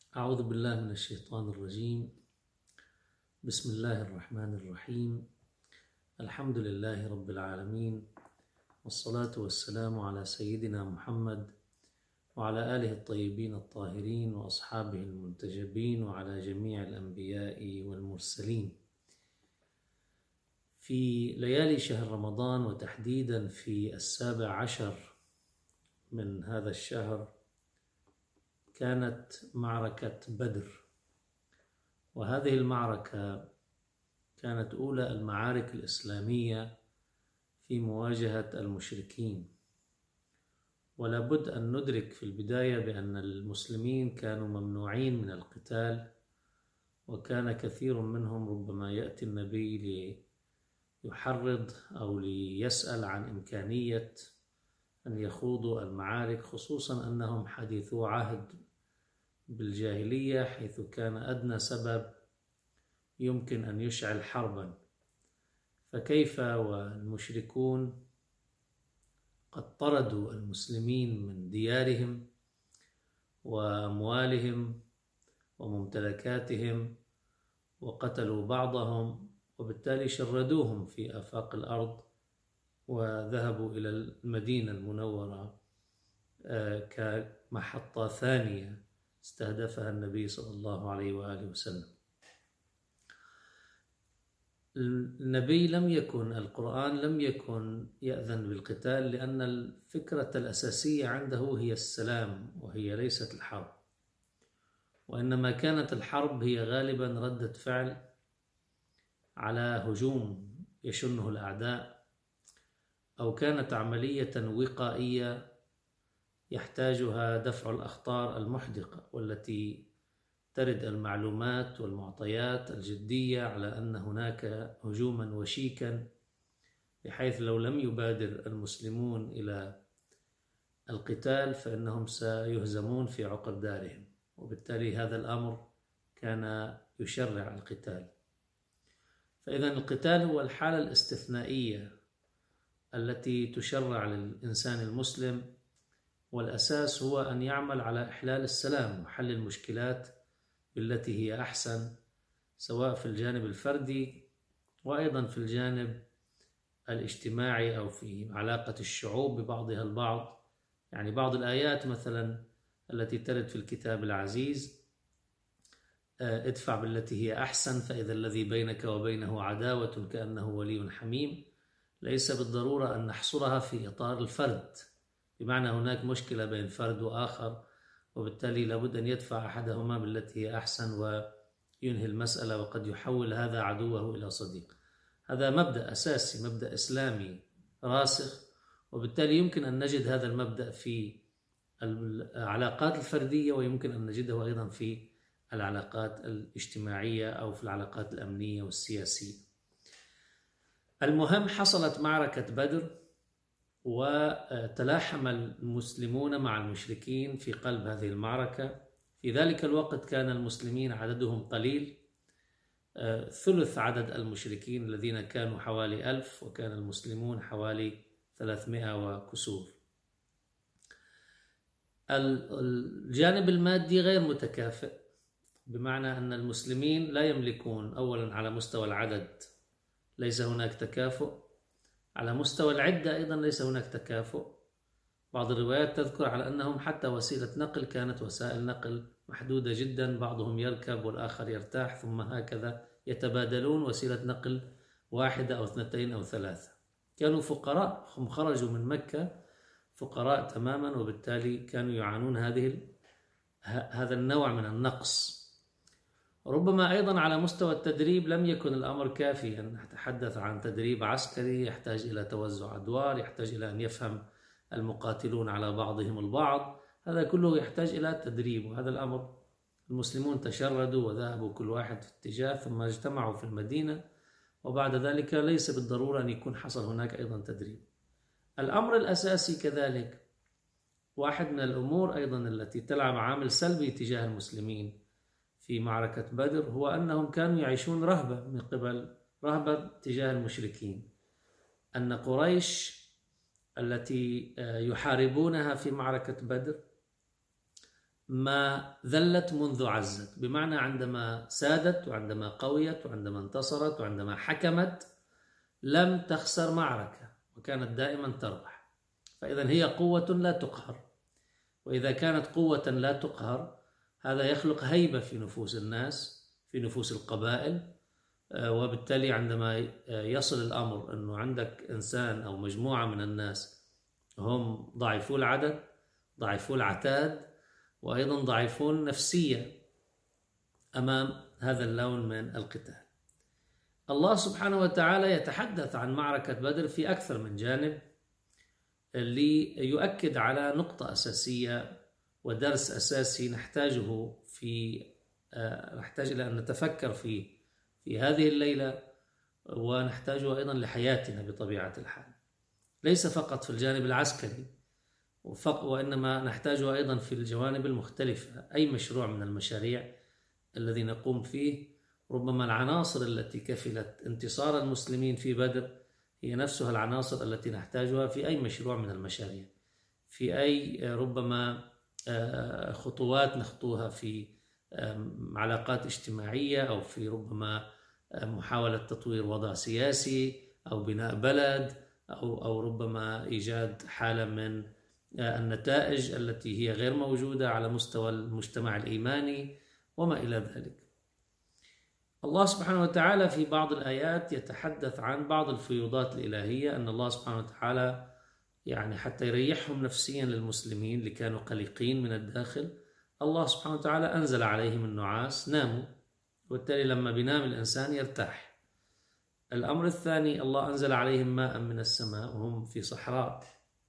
أعوذ بالله من الشيطان الرجيم. بسم الله الرحمن الرحيم. الحمد لله رب العالمين، والصلاة والسلام على سيدنا محمد وعلى آله الطيبين الطاهرين وأصحابه المنتجبين وعلى جميع الأنبياء والمرسلين. في ليالي شهر رمضان، وتحديدا في 17 من هذا الشهر، كانت معركة بدر. وهذه المعركة كانت أولى المعارك الإسلامية في مواجهة المشركين. ولا بد أن ندرك في البداية بأن المسلمين كانوا ممنوعين من القتال، وكان كثير منهم ربما يأتي النبي ليحرض أو ليسأل عن إمكانية أن يخوضوا المعارك، خصوصا أنهم حديثو عهد بالجاهلية، حيث كان أدنى سبب يمكن أن يشعل حربا. فكيف والمشركون قد طردوا المسلمين من ديارهم وأموالهم وممتلكاتهم، وقتلوا بعضهم، وبالتالي شردوهم في آفاق الأرض، وذهبوا إلى المدينة المنورة كمحطة ثانية استهدفها النبي صلى الله عليه وآله وسلم. القرآن لم يكن يأذن بالقتال، لأن الفكرة الأساسية عنده هي السلام، وهي ليست الحرب، وإنما كانت الحرب هي غالبا ردة فعل على هجوم يشنه الأعداء، أو كانت عملية وقائية يحتاجها دفع الأخطار المحدقة، والتي ترد المعلومات والمعطيات الجدية على أن هناك هجوما وشيكا، بحيث لو لم يبادر المسلمون إلى القتال فإنهم سيهزمون في عقر دارهم، وبالتالي هذا الأمر كان يشرع القتال. فإذا القتال هو الحالة الاستثنائية التي تشرع للإنسان المسلم، والأساس هو أن يعمل على إحلال السلام وحل المشكلات بالتي هي أحسن، سواء في الجانب الفردي وأيضا في الجانب الاجتماعي أو في علاقة الشعوب ببعضها البعض. يعني بعض الآيات مثلا التي ترد في الكتاب العزيز: ادفع بالتي هي أحسن فإذا الذي بينك وبينه عداوة كأنه ولي حميم، ليس بالضرورة أن نحصرها في إطار الفرد، بمعنى هناك مشكلة بين فرد وآخر، وبالتالي لابد أن يدفع أحدهما بالتي هي أحسن وينهي المسألة، وقد يحول هذا عدوه إلى صديق. هذا مبدأ أساسي، مبدأ إسلامي راسخ، وبالتالي يمكن أن نجد هذا المبدأ في العلاقات الفردية، ويمكن أن نجده أيضا في العلاقات الاجتماعية أو في العلاقات الأمنية والسياسية. المهم، حصلت معركة بدر، وتلاحم المسلمون مع المشركين في قلب هذه المعركة. في ذلك الوقت كان المسلمين عددهم قليل، ثلث عدد المشركين الذين كانوا حوالي 1000، وكان المسلمون حوالي 300 وكسور. الجانب المادي غير متكافئ، بمعنى أن المسلمين لا يملكون، أولا على مستوى العدد ليس هناك تكافؤ، على مستوى العدة أيضا ليس هناك تكافؤ. بعض الروايات تذكر على أنهم حتى وسيلة نقل كانت وسائل نقل محدودة جدا، بعضهم يركب والآخر يرتاح، ثم هكذا يتبادلون وسيلة نقل واحدة أو 2 أو 3. كانوا فقراء، هم خرجوا من مكة فقراء تماما، وبالتالي كانوا يعانون هذا النوع من النقص. ربما أيضا على مستوى التدريب لم يكن الأمر كافي، أن نتحدث عن تدريب عسكري يحتاج إلى توزع أدوار، يحتاج إلى أن يفهم المقاتلون على بعضهم البعض، هذا كله يحتاج إلى تدريب. وهذا الأمر المسلمون تشردوا وذهبوا كل واحد في اتجاه، ثم اجتمعوا في المدينة، وبعد ذلك ليس بالضرورة أن يكون حصل هناك أيضا تدريب. الأمر الأساسي كذلك، واحد من الأمور أيضا التي تلعب عامل سلبي تجاه المسلمين في معركة بدر، هو أنهم كانوا يعيشون رهبة تجاه المشركين. أن قريش التي يحاربونها في معركة بدر ما ذلت منذ عزت، بمعنى عندما سادت وعندما قويت وعندما انتصرت وعندما حكمت لم تخسر معركة وكانت دائما تربح. فإذا هي قوة لا تقهر، وإذا كانت قوة لا تقهر هذا يخلق هيبة في نفوس الناس، في نفوس القبائل. وبالتالي عندما يصل الأمر أنه عندك إنسان أو مجموعة من الناس هم ضعيفو العدد، ضعيفو العتاد، وأيضا ضعيفون نفسيا أمام هذا اللون من القتال. الله سبحانه وتعالى يتحدث عن معركة بدر في أكثر من جانب ليؤكد على نقطة أساسية ودرس أساسي نحتاج إلى أن نتفكر فيه في هذه الليلة، ونحتاجه أيضا لحياتنا بطبيعة الحال، ليس فقط في الجانب العسكري وإنما نحتاجه أيضا في الجوانب المختلفة. أي مشروع من المشاريع الذي نقوم فيه، ربما العناصر التي كفلت انتصار المسلمين في بدر هي نفسها العناصر التي نحتاجها في أي مشروع من المشاريع، في أي ربما خطوات نخطوها في علاقات اجتماعية، أو في ربما محاولة تطوير وضع سياسي أو بناء بلد، أو ربما إيجاد حالة من النتائج التي هي غير موجودة على مستوى المجتمع الإيماني وما إلى ذلك. الله سبحانه وتعالى في بعض الآيات يتحدث عن بعض الفيوضات الإلهية، أن الله سبحانه وتعالى يعني حتى يريحهم نفسيا للمسلمين اللي كانوا قلقين من الداخل، الله سبحانه وتعالى أنزل عليهم النعاس، ناموا، وبالتالي لما بينام الإنسان يرتاح. الأمر الثاني، الله أنزل عليهم ماء من السماء وهم في صحراء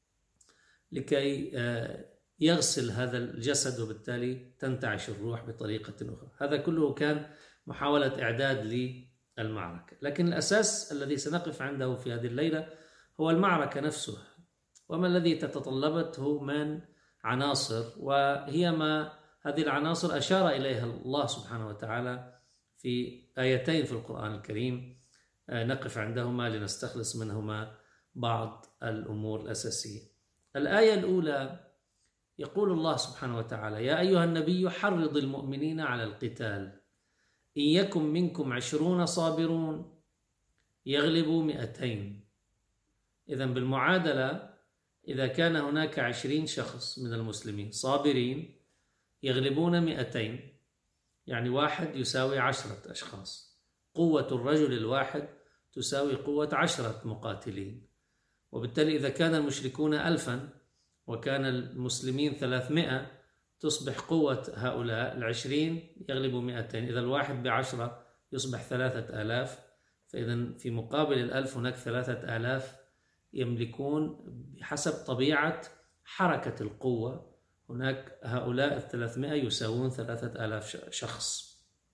لكي يغسل هذا الجسد، وبالتالي تنتعش الروح بطريقة أخرى. هذا كله كان محاولة إعداد للمعركة، لكن الأساس الذي سنقف عنده في هذه الليلة هو المعركة نفسها، وما الذي تتطلبته من عناصر، وهي ما هذه العناصر أشار إليها الله سبحانه وتعالى في آيتين في القرآن الكريم نقف عندهما لنستخلص منهما بعض الأمور الأساسية. الآية الأولى يقول الله سبحانه وتعالى: يا أيها النبي حرض المؤمنين على القتال إن يكن منكم 20 صابرون يغلبوا 200. إذن بالمعادلة، إذا كان هناك 20 شخص من المسلمين صابرين يغلبون 200، يعني واحد يساوي 10 أشخاص. قوة الرجل الواحد تساوي قوة 10 مقاتلين، وبالتالي إذا كان المشركون 1000 وكان المسلمين 300 تصبح قوة هؤلاء 20 يغلبوا 200. إذا الواحد ب10 يصبح 3000، فإذا في مقابل 1000 هناك 3000 يملكون بحسب طبيعة حركة القوة. هناك هؤلاء 300 يساوون 3000 شخص.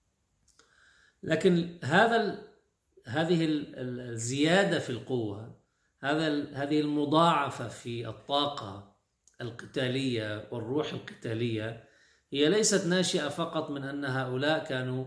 لكن هذه الزيادة في القوة، هذه المضاعفة في الطاقة القتالية والروح القتالية، هي ليست ناشئة فقط من أن هؤلاء كانوا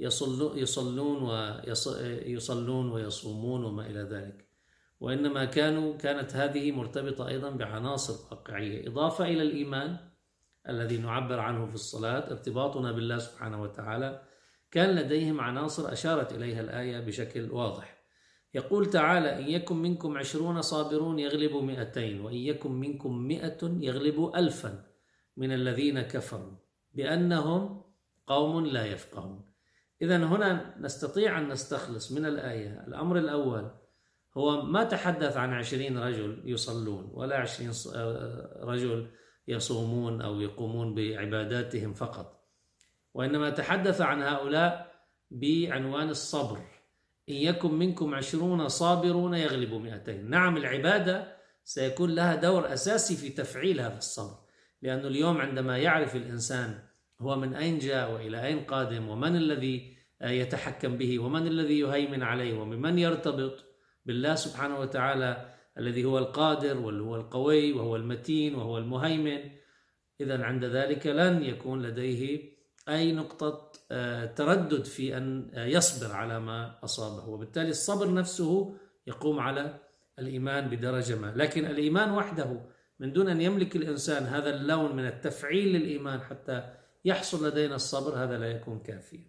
يصلون ويصومون وما إلى ذلك، وإنما كانت هذه مرتبطة أيضا بعناصر واقعية، إضافة إلى الإيمان الذي نعبر عنه في الصلاة، ارتباطنا بالله سبحانه وتعالى. كان لديهم عناصر أشارت إليها الآية بشكل واضح. يقول تعالى: إن يكن منكم 20 صابرون يغلبوا 200، وإن يكن منكم 100 يغلبوا 1000 من الذين كفروا بأنهم قوم لا يفقهون. إذن هنا نستطيع أن نستخلص من الآية الأمر الأول هو ما تحدث عن 20 رجل يصلون ولا 20 رجل يصومون أو يقومون بعباداتهم فقط، وإنما تحدث عن هؤلاء بعنوان الصبر. إن يكن منكم 20 صابرون يغلبوا 200. نعم، العبادة سيكون لها دور أساسي في تفعيل هذا الصبر، لأنه اليوم عندما يعرف الإنسان هو من أين جاء وإلى أين قادم، ومن الذي يتحكم به، ومن الذي يهيمن عليه، ومن يرتبط بالله سبحانه وتعالى الذي هو القادر وهو القوي وهو المتين وهو المهيمن، إذن عند ذلك لن يكون لديه أي نقطة تردد في أن يصبر على ما أصابه، وبالتالي الصبر نفسه يقوم على الإيمان بدرجة ما. لكن الإيمان وحده من دون أن يملك الإنسان هذا اللون من التفعيل للإيمان حتى يحصل لدينا الصبر، هذا لا يكون كافيا.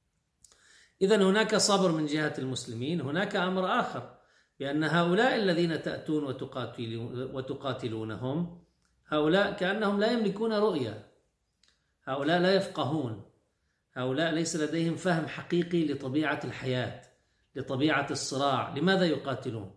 إذن هناك صبر من جهة المسلمين. هناك أمر آخر، بأن هؤلاء الذين تأتون وتقاتلونهم، هؤلاء كأنهم لا يملكون رؤية، هؤلاء لا يفقهون، هؤلاء ليس لديهم فهم حقيقي لطبيعة الحياة، لطبيعة الصراع. لماذا يقاتلون؟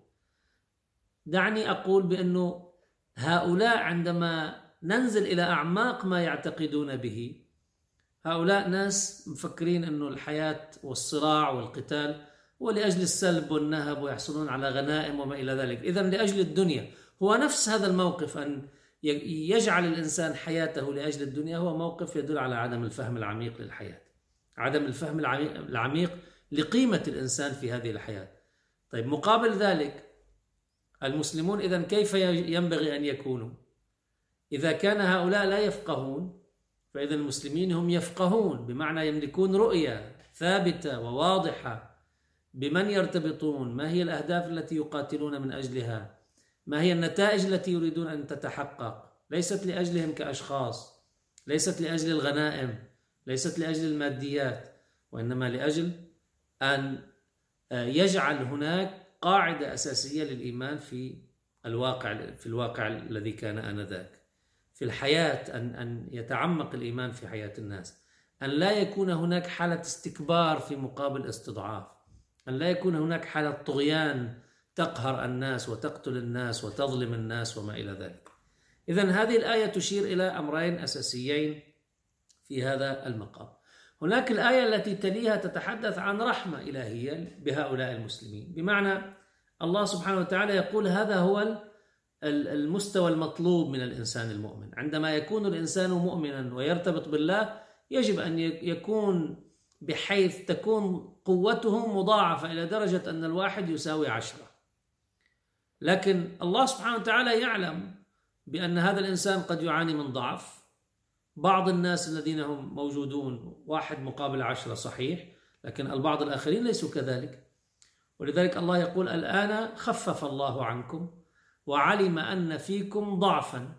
دعني أقول بأنه هؤلاء عندما ننزل إلى أعماق ما يعتقدون به، هؤلاء ناس مفكرين أنه الحياة والصراع والقتال هو لأجل السلب والنهب ويحصلون على غنائم وما إلى ذلك، إذن لأجل الدنيا. هو نفس هذا الموقف، أن يجعل الإنسان حياته لأجل الدنيا، هو موقف يدل على عدم الفهم العميق للحياة، عدم الفهم العميق لقيمة الإنسان في هذه الحياة. طيب، مقابل ذلك المسلمون إذن كيف ينبغي أن يكونوا؟ إذا كان هؤلاء لا يفقهون، فإذا المسلمين هم يفقهون، بمعنى يملكون رؤية ثابتة وواضحة بمن يرتبطون، ما هي الأهداف التي يقاتلون من أجلها، ما هي النتائج التي يريدون أن تتحقق، ليست لأجلهم كأشخاص، ليست لأجل الغنائم، ليست لأجل الماديات، وإنما لأجل أن يجعل هناك قاعدة أساسية للإيمان في الواقع الذي كان آنذاك في الحياة، أن يتعمق الإيمان في حياة الناس، أن لا يكون هناك حالة استكبار في مقابل استضعاف، أن لا يكون هناك حالة طغيان تقهر الناس وتقتل الناس وتظلم الناس وما إلى ذلك. إذن هذه الآية تشير إلى أمرين أساسيين في هذا المقام. هناك الآية التي تليها تتحدث عن رحمة إلهية بهؤلاء المسلمين، بمعنى الله سبحانه وتعالى يقول هذا هو المستوى المطلوب من الإنسان المؤمن. عندما يكون الإنسان مؤمنا ويرتبط بالله، يجب أن يكون بحيث تكون قوته مضاعفة إلى درجة أن الواحد يساوي 10. لكن الله سبحانه وتعالى يعلم بأن هذا الإنسان قد يعاني من ضعف. بعض الناس الذين هم موجودون 1:10 صحيح، لكن البعض الآخرين ليسوا كذلك. ولذلك الله يقول الآن خفف الله عنكم وعلم أن فيكم ضعفا.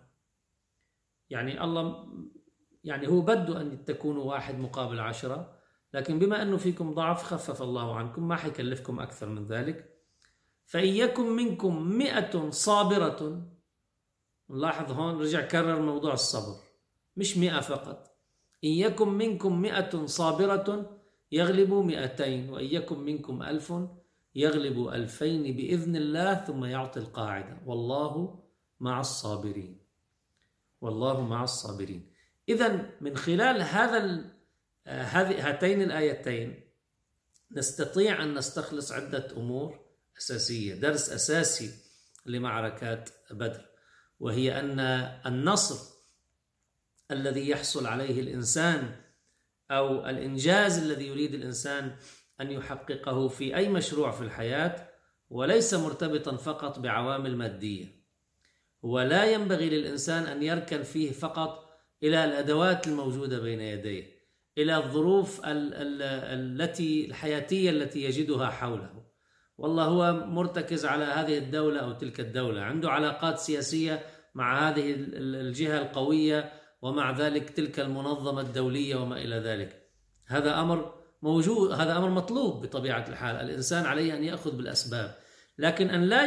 يعني الله هو بده أن تكونوا 1:10، لكن بما أنه فيكم ضعف خفف الله عنكم، ما حيكلفكم أكثر من ذلك. فإن يكن منكم 100 صابرة، نلاحظ هون رجع كرر موضوع الصبر، مش 100 فقط. إن يكن منكم 100 صابرة يغلبوا 200، وإن يكن منكم 1000 يغلبوا 2000 بإذن الله. ثم يعطي القاعدة والله مع الصابرين، والله مع الصابرين. إذن من خلال هاتين الآيتين نستطيع أن نستخلص عدة أمور أساسية، درس أساسي لمعركات بدر، وهي أن النصر الذي يحصل عليه الإنسان أو الإنجاز الذي يريد الإنسان أن يحققه في أي مشروع في الحياة وليس مرتبطا فقط بعوامل مادية. ولا ينبغي للإنسان أن يركن فيه فقط إلى الأدوات الموجودة بين يديه، إلى الظروف الحياتية التي يجدها حوله. والله هو مرتكز على هذه الدولة أو تلك الدولة، عنده علاقات سياسية مع هذه الجهة القوية ومع ذلك تلك المنظمة الدولية وما إلى ذلك. هذا أمر موجود، هذا أمر مطلوب بطبيعة الحال، الإنسان عليه أن يأخذ بالأسباب، لكن أن لا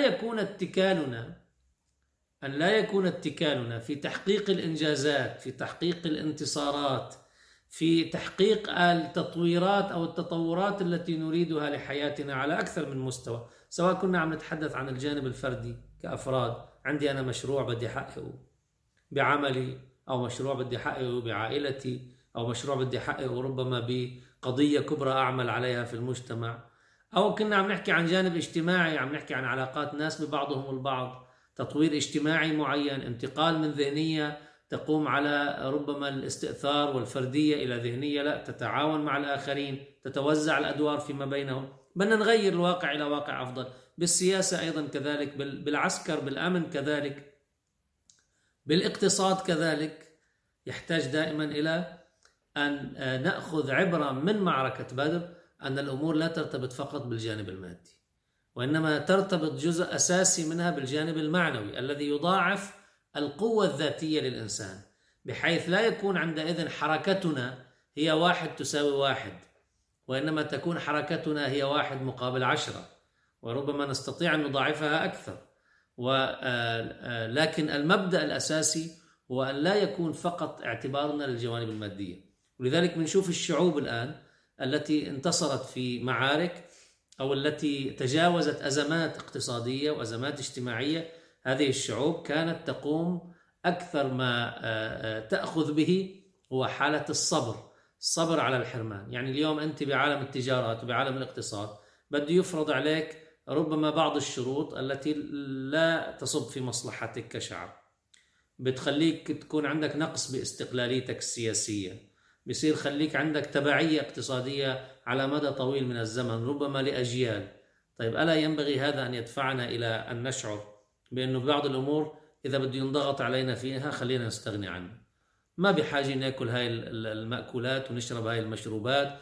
يكون اتكالنا في تحقيق الإنجازات، في تحقيق الانتصارات، في تحقيق التطويرات أو التطورات التي نريدها لحياتنا على أكثر من مستوى، سواء كنا عم نتحدث عن الجانب الفردي كأفراد، عندي أنا مشروع بدي أحققه بعملي، أو مشروع بدي أحققه بعائلتي، أو مشروع بدي أحققه ربما بقضية كبرى أعمل عليها في المجتمع، أو كنا عم نحكي عن جانب اجتماعي، عم نحكي عن علاقات ناس ببعضهم البعض، تطوير اجتماعي معين، انتقال من ذهنية تقوم على ربما الاستئثار والفردية إلى ذهنية لا تتعاون مع الآخرين، تتوزع الأدوار فيما بينهم، بدنا نغير الواقع إلى واقع أفضل. بالسياسة أيضا كذلك، بالعسكر، بالأمن كذلك، بالاقتصاد كذلك. يحتاج دائما إلى أن نأخذ عبرة من معركة بدر، أن الأمور لا ترتبط فقط بالجانب المادي، وإنما ترتبط جزء أساسي منها بالجانب المعنوي الذي يضاعف القوة الذاتية للإنسان، بحيث لا يكون عندئذ حركتنا هي 1 تساوي 1، وإنما تكون حركتنا هي 1 مقابل 10، وربما نستطيع أن نضاعفها أكثر. لكن المبدأ الأساسي هو أن لا يكون فقط اعتبارنا للجوانب المادية. ولذلك بنشوف الشعوب الآن التي انتصرت في معارك أو التي تجاوزت أزمات اقتصادية وأزمات اجتماعية، هذه الشعوب كانت تقوم أكثر ما تأخذ به هو حالة الصبر على الحرمان. يعني اليوم أنت بعالم التجارات وبعالم الاقتصاد بده يفرض عليك ربما بعض الشروط التي لا تصب في مصلحتك كشعب، بتخليك تكون عندك نقص باستقلاليتك السياسية، بيصير خليك عندك تبعية اقتصادية على مدى طويل من الزمن ربما لأجيال. طيب ألا ينبغي هذا أن يدفعنا إلى أن نشعر بأنه بعض الأمور إذا بده ينضغط علينا فيها خلينا نستغني عنها، ما بحاجة ناكل هاي المأكولات ونشرب هاي المشروبات،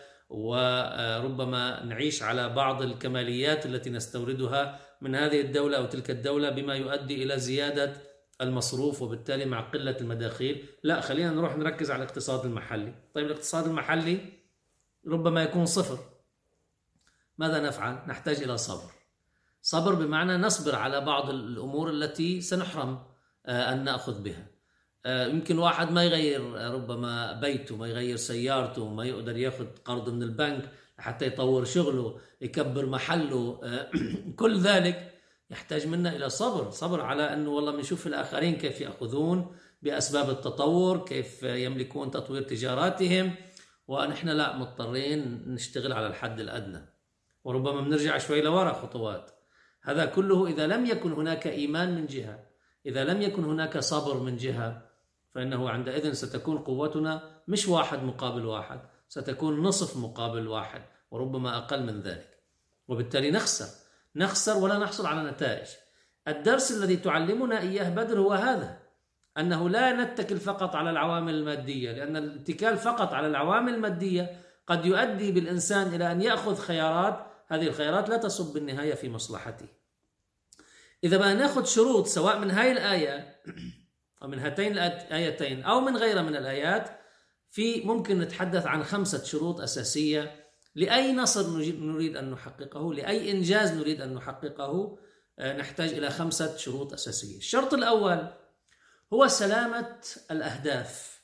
وربما نعيش على بعض الكماليات التي نستوردها من هذه الدولة أو تلك الدولة بما يؤدي إلى زيادة المصروف وبالتالي مع قلة المداخيل. لا، خلينا نروح نركز على الاقتصاد المحلي. طيب الاقتصاد المحلي ربما يكون صفر، ماذا نفعل؟ نحتاج إلى صبر بمعنى نصبر على بعض الأمور التي سنحرم أن نأخذ بها. يمكن واحد ما يغير ربما بيته، ما يغير سيارته، ما يقدر ياخذ قرض من البنك حتى يطور شغله، يكبر محله، كل ذلك يحتاج منا إلى صبر على أنه والله بنشوف الآخرين كيف يأخذون بأسباب التطور، كيف يملكون تطوير تجاراتهم، ونحن لا، مضطرين نشتغل على الحد الأدنى، وربما بنرجع شوي لورا خطوات. هذا كله إذا لم يكن هناك إيمان من جهة، إذا لم يكن هناك صبر من جهة، فإنه عندئذ ستكون قوتنا مش 1 مقابل 1، ستكون نصف مقابل 1 وربما أقل من ذلك، وبالتالي نخسر ولا نحصل على نتائج. الدرس الذي تعلمنا إياه بدر هو هذا، أنه لا نتكل فقط على العوامل المادية، لأن الاتكال فقط على العوامل المادية قد يؤدي بالإنسان إلى أن يأخذ خيارات، هذه الخيارات لا تصب بالنهاية في مصلحته. إذا ما نأخذ شروط سواء من هاي الآية أو من هاتين الآيتين أو من غيرها من الآيات، ممكن نتحدث عن 5 شروط أساسية لأي نصر نريد أن نحققه، لأي إنجاز نريد أن نحققه، نحتاج إلى 5 شروط أساسية. الشرط الأول هو سلامة الأهداف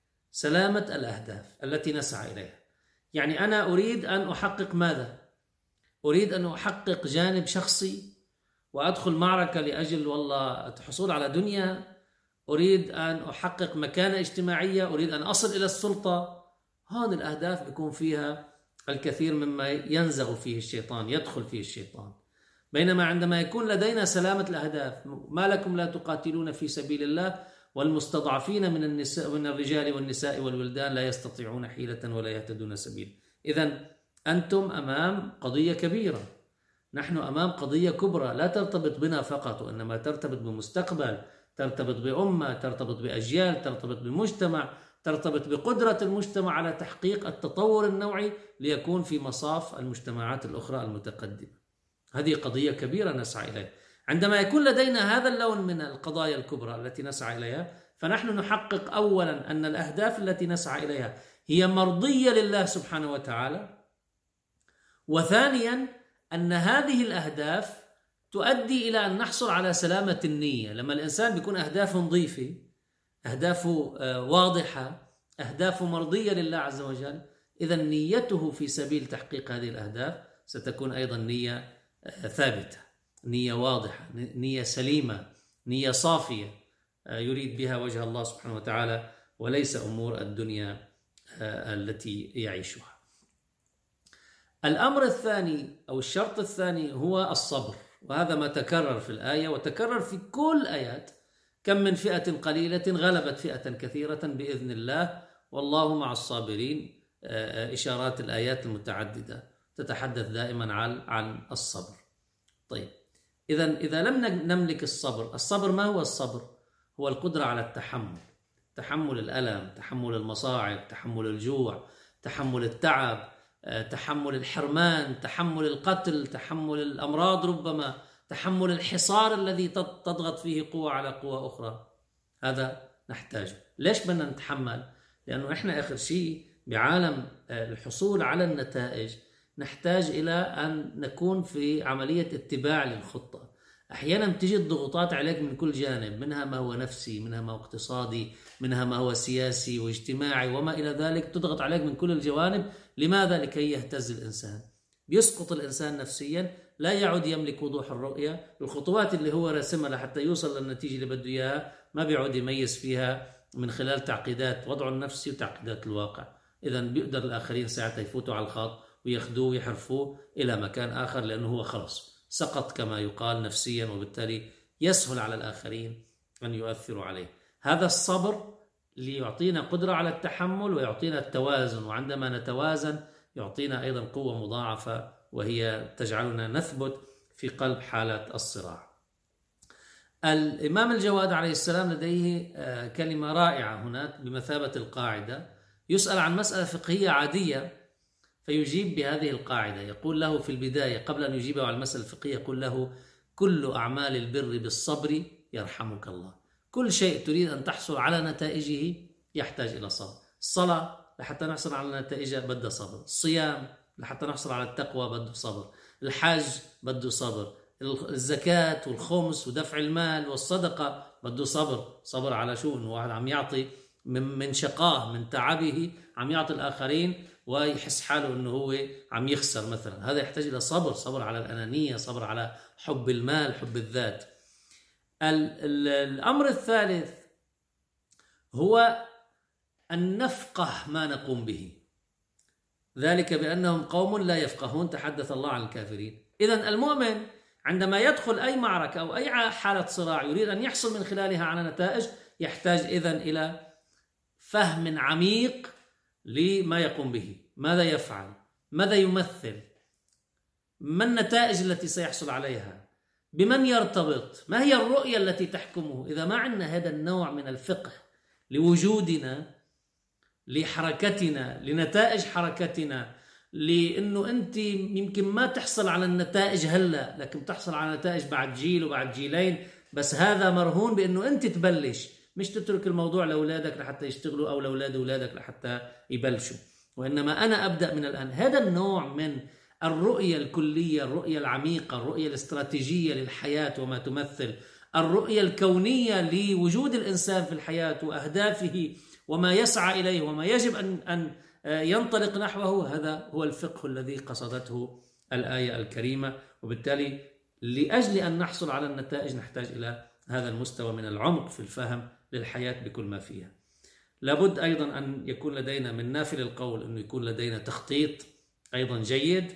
التي نسعى إليها. يعني أنا أريد أن أحقق ماذا؟ أريد أن أحقق جانب شخصي وأدخل معركة لأجل والله الحصول على دنيا، أريد أن أحقق مكانة اجتماعية، أريد أن أصل إلى السلطة. هذه الأهداف بيكون فيها الكثير مما ينزغ فيه الشيطان، يدخل فيه الشيطان. بينما عندما يكون لدينا سلامة الأهداف، ما لكم لا تقاتلون في سبيل الله والمستضعفين من النساء من الرجال والنساء والولدان لا يستطيعون حيلة ولا يهتدون سبيل. إذن أنتم أمام قضية كبيرة، نحن أمام قضية كبرى لا ترتبط بنا فقط، وإنما ترتبط بمستقبل، ترتبط بأمة، ترتبط بأجيال، ترتبط بمجتمع، ترتبط بقدرة المجتمع على تحقيق التطور النوعي ليكون في مصاف المجتمعات الأخرى المتقدمة. هذه قضية كبيرة نسعى إليها. عندما يكون لدينا هذا اللون من القضايا الكبرى التي نسعى إليها، فنحن نحقق أولا أن الأهداف التي نسعى إليها هي مرضية لله سبحانه وتعالى، وثانيا أن هذه الأهداف تؤدي إلى أن نحصل على سلامة النية. لما الإنسان بيكون أهدافه نظيفة، أهدافه واضحة، أهدافه مرضية لله عز وجل، إذا نيته في سبيل تحقيق هذه الأهداف ستكون أيضا نية ثابتة، نية واضحة، نية سليمة، نية صافية يريد بها وجه الله سبحانه وتعالى وليس أمور الدنيا التي يعيشها. الأمر الثاني أو الشرط الثاني هو الصبر، وهذا ما تكرر في الآية وتكرر في كل آيات. كم من فئة قليلة غلبت فئة كثيرة بإذن الله والله مع الصابرين. إشارات الآيات المتعددة تتحدث دائما عن الصبر. طيب إذا لم نملك الصبر ما هو الصبر؟ هو القدرة على تحمل الألم، تحمل المصاعب، تحمل الجوع، تحمل التعب، تحمل الحرمان، تحمل القتل، تحمل الأمراض، ربما تحمل الحصار الذي تضغط فيه قوة على قوة أخرى. هذا نحتاجه. ليش بدنا نتحمل؟ لأنه إحنا آخر شيء بعالم الحصول على النتائج نحتاج إلى أن نكون في عملية اتباع للخطة. أحيانا تجي الضغوطات عليك من كل جانب، منها ما هو نفسي، منها ما هو اقتصادي، منها ما هو سياسي واجتماعي وما إلى ذلك، تضغط عليك من كل الجوانب. لماذا؟ لكي يهتز الإنسان، بيسقط الإنسان نفسيا، لا يعد يملك وضوح الرؤية. الخطوات اللي هو رسمها لحتى يوصل للنتيجة اللي بده إياها ما بيعود يميز فيها من خلال تعقيدات وضعه النفسي وتعقيدات الواقع. إذن بيقدر الآخرين ساعتها يفوتوا على الخط وياخذوه ويحرفوه إلى مكان آخر، لأنه هو خلص سقط كما يقال نفسيا، وبالتالي يسهل على الآخرين أن يؤثروا عليه. هذا الصبر اللي يعطينا قدرة على التحمل ويعطينا التوازن، وعندما نتوازن يعطينا أيضا قوة مضاعفة وهي تجعلنا نثبت في قلب حالة الصراع. الإمام الجواد عليه السلام لديه كلمة رائعة هناك بمثابة القاعدة. يسأل عن مسألة فقهية عادية فيجيب بهذه القاعدة. يقول له في البداية قبل أن يجيبه على المسألة الفقهية يقول له: كل أعمال البر بالصبر يرحمك الله. كل شيء تريد أن تحصل على نتائجه يحتاج إلى صبر. الصلاة لحتى نحصل على نتائجها بدها صبر، الصيام لحتى نحصل على التقوى بده صبر، الحج بده صبر، الزكاة والخمس ودفع المال والصدقة بده صبر. صبر على شو؟ إنه واحد عم يعطي من شقاه من تعبه، عم يعطي الآخرين ويحس حاله إنه هو عم يخسر مثلا، هذا يحتاج إلى صبر. صبر على الأنانية، صبر على حب المال، حب الذات. الأمر الثالث هو أن نفقه ما نقوم به، ذلك بأنهم قوم لا يفقهون، تحدث الله عن الكافرين. إذن المؤمن عندما يدخل أي معركة أو أي حالة صراع يريد أن يحصل من خلالها على نتائج، يحتاج إذن إلى فهم عميق لما يقوم به، ماذا يفعل، ماذا يمثل، ما النتائج التي سيحصل عليها، بمن يرتبط، ما هي الرؤية التي تحكمه. إذا ما عندنا هذا النوع من الفقه لوجودنا، لحركتنا، لنتائج حركتنا، لأنه أنت يمكن ما تحصل على النتائج هلأ لكن تحصل على نتائج بعد جيل وبعد جيلين، بس هذا مرهون بأنه أنت تبلش، مش تترك الموضوع لأولادك لحتى يشتغلوا أو لأولاد أولادك لحتى يبلشوا، وإنما أنا أبدأ من الآن. هذا النوع من الرؤية الكلية، الرؤية العميقة، الرؤية الاستراتيجية للحياة وما تمثل، الرؤية الكونية لوجود الإنسان في الحياة وأهدافه وما يسعى إليه وما يجب أن ينطلق نحوه، هذا هو الفقه الذي قصدته الآية الكريمة. وبالتالي لأجل أن نحصل على النتائج نحتاج إلى هذا المستوى من العمق في الفهم للحياة بكل ما فيها. لابد أيضا أن يكون لدينا من نافل القول أنه يكون لدينا تخطيط أيضا جيد،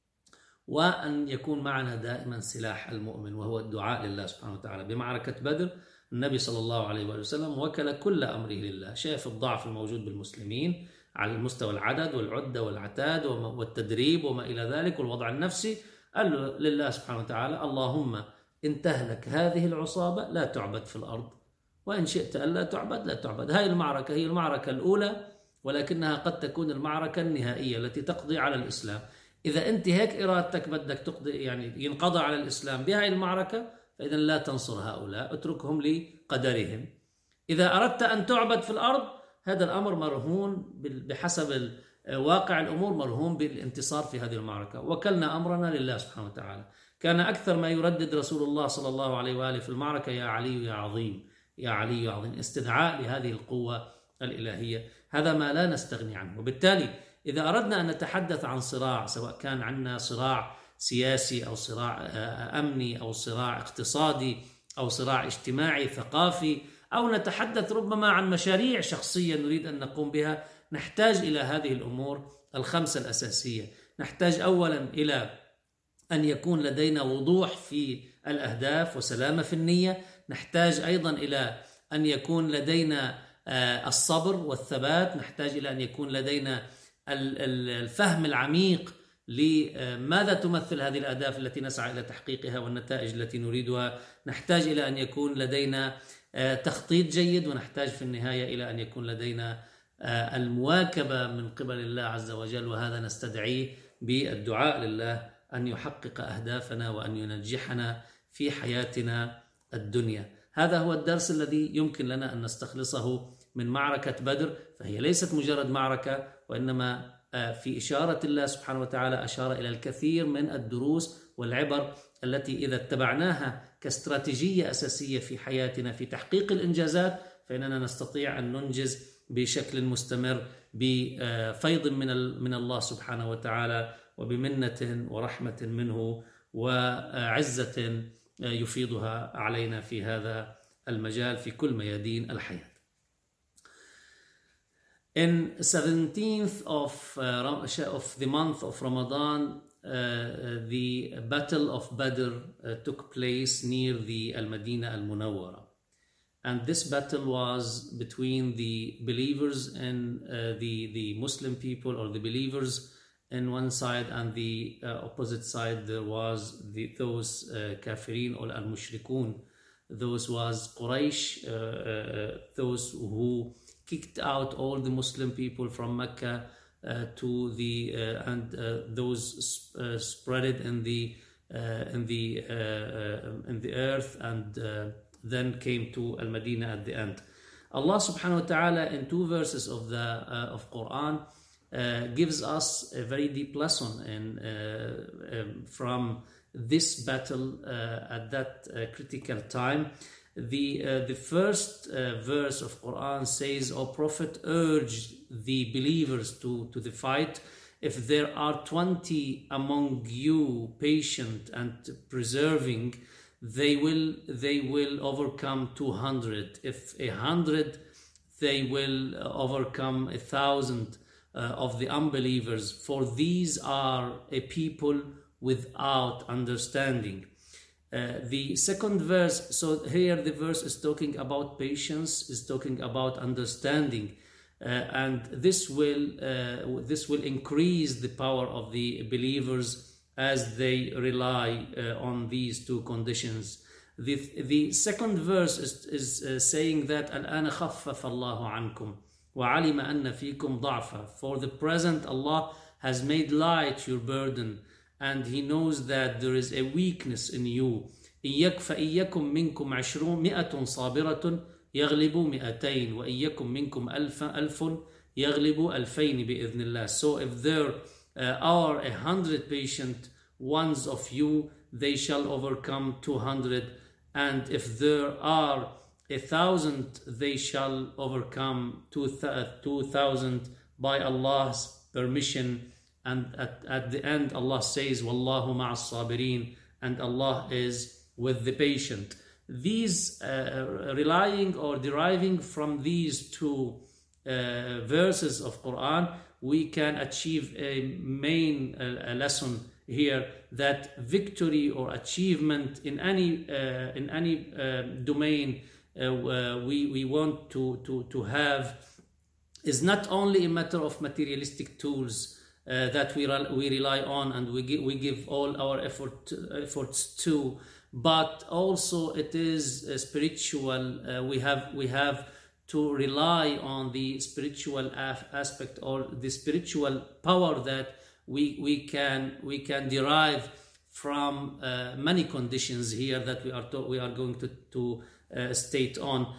وأن يكون معنا دائما سلاح المؤمن وهو الدعاء لله سبحانه وتعالى. بمعركة بدر النبي صلى الله عليه وسلم وكل كل أمره لله، شاف الضعف الموجود بالمسلمين على المستوى العدد والعدة والعتاد والتدريب وما إلى ذلك والوضع النفسي، قال له لله سبحانه وتعالى: اللهم إن تهلك هذه العصابة لا تعبد في الأرض، وإن شئت ألا تعبد لا تعبد. هاي المعركة هي المعركة الأولى، ولكنها قد تكون المعركة النهائية التي تقضي على الإسلام. إذا أنت هيك إرادتك بدك تقضي، يعني ينقضى على الإسلام بهاي المعركة، فإذا لا تنصر هؤلاء، اتركهم لقدرهم. إذا أردت أن تعبد في الأرض، هذا الأمر مرهون بحسب واقع الأمور، مرهون بالانتصار في هذه المعركة. وكلنا أمرنا لله سبحانه وتعالى. كان أكثر ما يردد رسول الله صلى الله عليه وآله في المعركة: يا علي يا عظيم، يا علي يا عظيم، استدعاء لهذه القوة الإلهية. هذا ما لا نستغني عنه. وبالتالي إذا أردنا أن نتحدث عن صراع، سواء كان عندنا صراع سياسي أو صراع أمني أو صراع اقتصادي أو صراع اجتماعي ثقافي، أو نتحدث ربما عن مشاريع شخصية نريد أن نقوم بها، نحتاج إلى هذه الأمور الخمسة الأساسية. نحتاج أولا إلى أن يكون لدينا وضوح في الأهداف وسلامة في النية. نحتاج أيضا إلى أن يكون لدينا الصبر والثبات. نحتاج إلى أن يكون لدينا الفهم العميق لماذا تمثل هذه الأهداف التي نسعى إلى تحقيقها والنتائج التي نريدها. نحتاج إلى أن يكون لدينا تخطيط جيد، ونحتاج في النهاية إلى أن يكون لدينا المواكبة من قبل الله عز وجل، وهذا نستدعيه بالدعاء لله أن يحقق أهدافنا وأن ينجحنا في حياتنا الدنيا. هذا هو الدرس الذي يمكن لنا أن نستخلصه من معركة بدر. فهي ليست مجرد معركة، وإنما في إشارة الله سبحانه وتعالى أشار إلى الكثير من الدروس والعبر التي إذا اتبعناها كاستراتيجية أساسية في حياتنا في تحقيق الإنجازات، فإننا نستطيع أن ننجز بشكل مستمر بفيض من الله سبحانه وتعالى، وبمنة ورحمة منه، وعزة يفيضها علينا في هذا المجال في كل ميادين الحياة. In 17th of the month of Ramadan, the Battle of Badr took place near the Al-Madinah Al-Munawwara. And this battle was between the believers and the Muslim people, or the believers in one side, and the opposite side there was those kafirin or al-mushrikun. Those was Quraysh, those who kicked out all the Muslim people from Mecca to the and those spread it in the earth, and then came to Al-Madinah at the end. Allah subhanahu wa ta'ala in two verses of the of Quran gives us a very deep lesson from this battle at that critical time. The first verse of Quran says, "O Prophet, urge the believers to the fight. If there are 20 among you patient and persevering, they will overcome 200. If 100, they will overcome 1,000 of the unbelievers. For these are a people without understanding." The second verse, so here the verse is talking about patience, is talking about understanding, and this will increase the power of the believers as they rely on these two conditions. The second verse is saying that الآن خفف الله عنكم وعلم أن فيكم ضعفا. For the present, Allah has made light your burden, and He knows that there is a weakness in you. فإيكم منكم 200 صابرة يغلبوا 200 وإيكم منكم 1000 يغلبوا 2000 بإذن الله. So if there are 100 patient ones of you, they shall overcome 200, and if there are 1,000, they shall overcome 2,000 by Allah's permission. And at the end, Allah says, "Wallahu ma'as sabirin," and Allah is with the patient. These relying or deriving from these two verses of Quran, we can achieve a main lesson here, that victory or achievement in any domain we want to have is not only a matter of materialistic tools that we rely on and we give all our efforts to, but also it is spiritual. We have to rely on the spiritual aspect, or the spiritual power that we can derive from many conditions here that we are going to state on.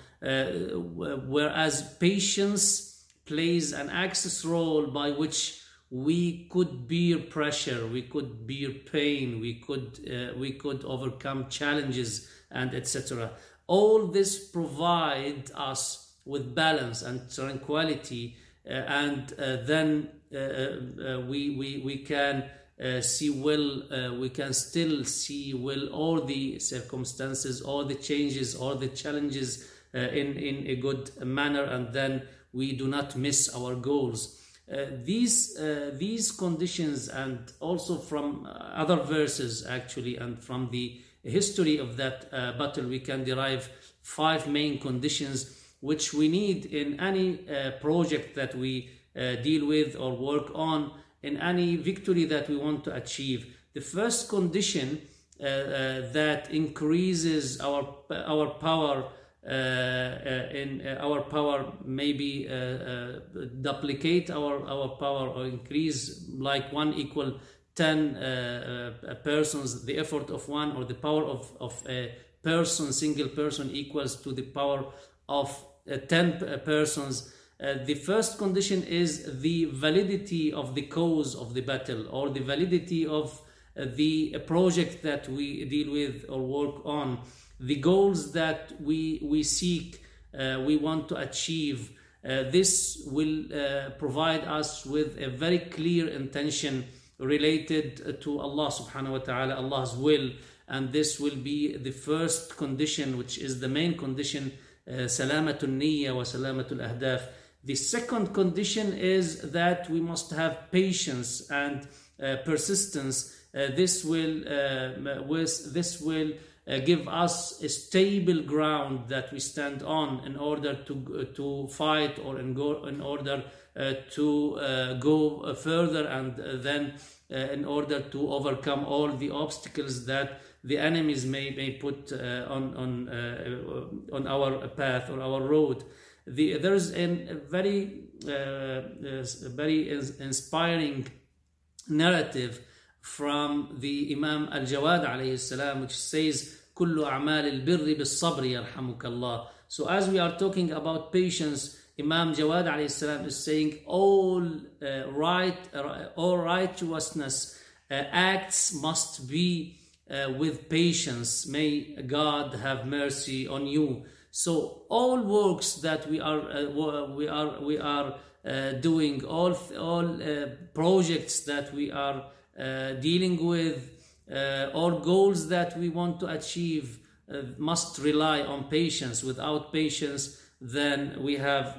Whereas patience plays an access role by which we could bear pressure, we could bear pain, we could overcome challenges, and etc. All this provide us with balance and tranquility, and then we can see well. We can still see well all the circumstances, all the changes, all the challenges in a good manner, and then we do not miss our goals. These conditions, and also from other verses actually, and from the history of that battle, we can derive 5 main conditions which we need in any project that we deal with or work on, in any victory that we want to achieve. The first condition that increases our power, our power, maybe duplicate our power, or increase like 1 equal 10 persons, the effort of one, or the power of person, single person, equals to the power of 10 persons. The first condition is the validity of the cause of the battle, or the validity of the project that we deal with or work on, the goals that we seek, we want to achieve. This will provide us with a very clear intention related to Allah subhanahu wa ta'ala, Allah's will, and this will be the first condition, which is the main condition, salamatul niyya wa salamatul ahdaf. The second condition is that we must have patience and persistence. This will give us a stable ground that we stand on in order to fight, or in order to go further, and then in order to overcome all the obstacles that the enemies may put on our path or our road. There's a very inspiring narrative from the Imam Al-Jawad alayhi salam, which says, كل أعمال البر بالصبر يرحمك الله. So as we are talking about patience, Imam Jawad alayhi salam is saying all righteousness acts must be with patience. May God have mercy on you. So all works that we are doing, all projects that we are dealing with, all goals that we want to achieve must rely on patience. Without patience, then we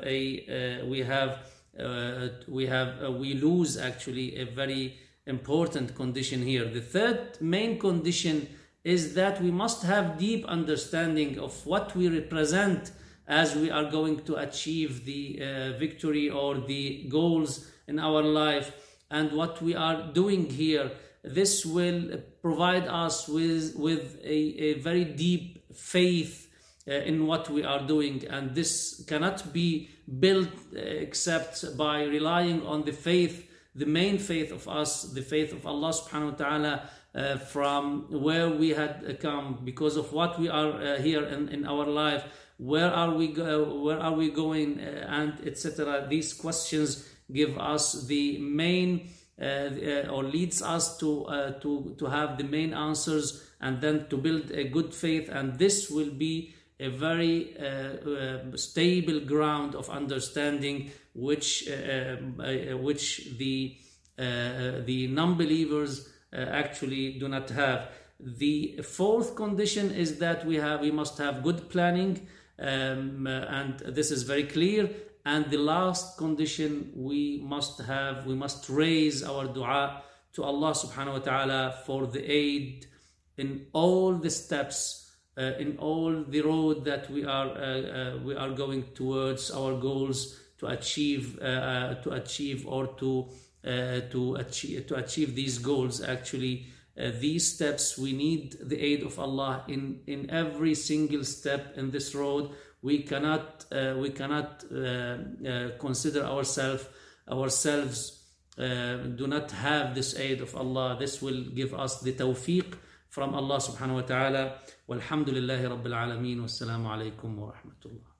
lose actually a very important condition here. The third main condition is that we must have deep understanding of what we represent as we are going to achieve the victory or the goals in our life, and what we are doing here. This will provide us with a very deep faith in what we are doing, and this cannot be built except by relying on the faith, the main faith of us, the faith of Allah subhanahu wa ta'ala, from where we had come, because of what we are here in our life, where are we going, and etc. These questions give us the main or leads us to have the main answers, and then to build a good faith, and this will be a very stable ground of understanding which the non-believers actually do not have. The fourth condition is that we must have good planning, and this is very clear. And the last condition, we must raise our dua to Allah subhanahu wa ta'ala for the aid in all the steps, in all the road that we are going towards our goals to achieve these goals. Actually, these steps, we need the aid of Allah in every single step in this road. We cannot consider ourselves do not have this aid of Allah. This will give us the tawfiq from Allah subhanahu wa ta'ala. Walhamdulillahi rabbil alameen. Wassalamu alaikum wa rahmatullah.